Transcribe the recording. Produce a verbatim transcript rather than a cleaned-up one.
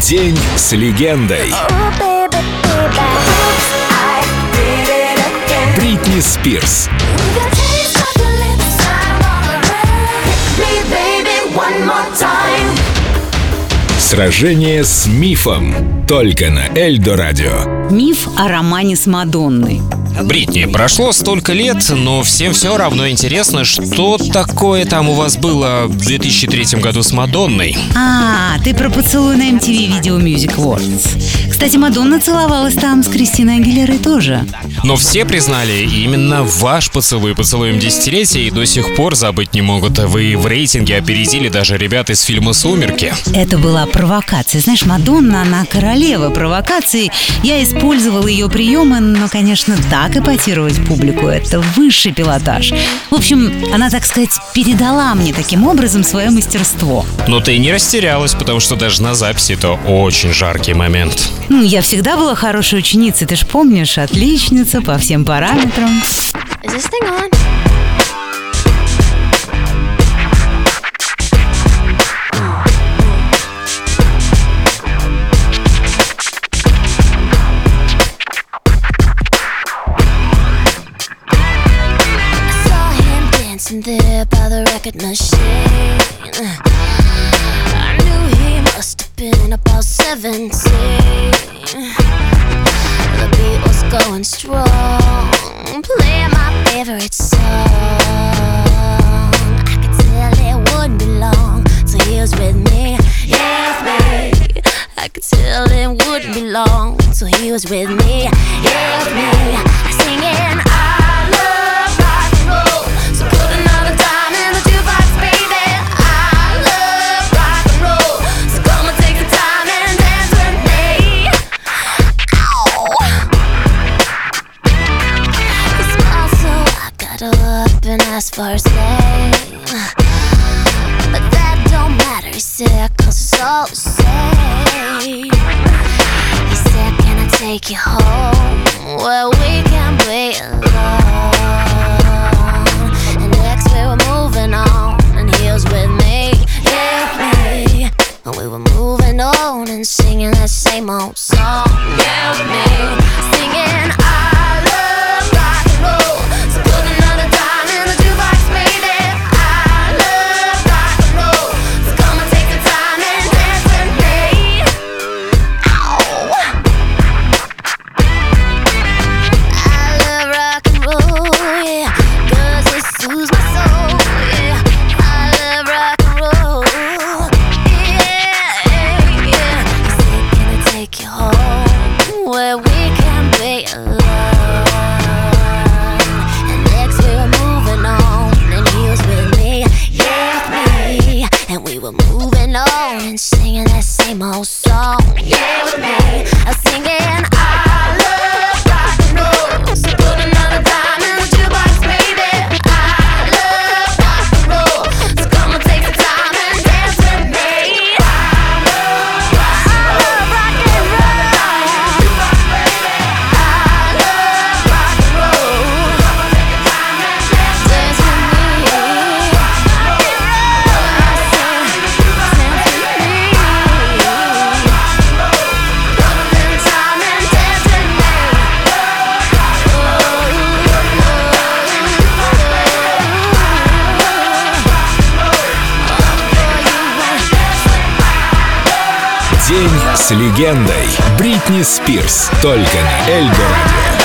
День с легендой. Бритни Спирс. Сражение с мифом. Только на Эльдо Радио. Миф о романе с Мадонной. Бритни, прошло столько лет, но всем все равно интересно, что такое там у вас было в две тысячи третьем году с Мадонной. А, ты про поцелуй на эм ти ви Video Music Awards. Кстати, Мадонна целовалась там с Кристиной Агилерой тоже. Но все признали, именно ваш поцелуй поцелуем десятилетия и до сих пор забыть не могут. Вы в рейтинге опередили даже ребят из фильма «Сумерки». Это была провокация. Знаешь, Мадонна, она королева провокаций. Я использовал ее приемы, но, конечно, так эпатировать публику — это высший пилотаж. В общем, она, так сказать, передала мне таким образом свое мастерство. Но ты не растерялась, потому что даже на записи это очень жаркий момент. Ну, я всегда была хорошей ученицей, ты ж помнишь, отличница по всем параметрам. Is this thing on? There by the record machine, I knew he must have been about seventeen. The beat was going strong, playing my favorite song. I could tell it wouldn't be long till he was with me, yeah, me. I could tell it wouldn't be long till he was with me, yeah, me. Singing I love rock and roll. So put another dime in the jukebox, baby. I love rock and roll. So come and take the time and dance with me. Ow. He smiled, so I got up and asked for his name. But that don't matter, he said, cause it's all the same. He said, can I take you home where we can play alone? We were moving on and singing that same old song. Yeah, with me singing I love rock and roll. So put another dime in the jukebox, baby. I love rock and roll. So come and take the time and dance with me. Ow. I love rock and roll, yeah, cause it soothes my soul, yeah. I love rock and roll. Take you home where we can be alone. And next we were moving on, and he was with me, yeah, with me. And we were moving on and singing that same old song, yeah, with me. I was singing I love rock and roll. So put another dime in the jukebox, baby. I love rock and roll. So come and take the time and dance with me. I love rock and roll. День с легендой. Бритни Спирс. Только на Эльдо Радио.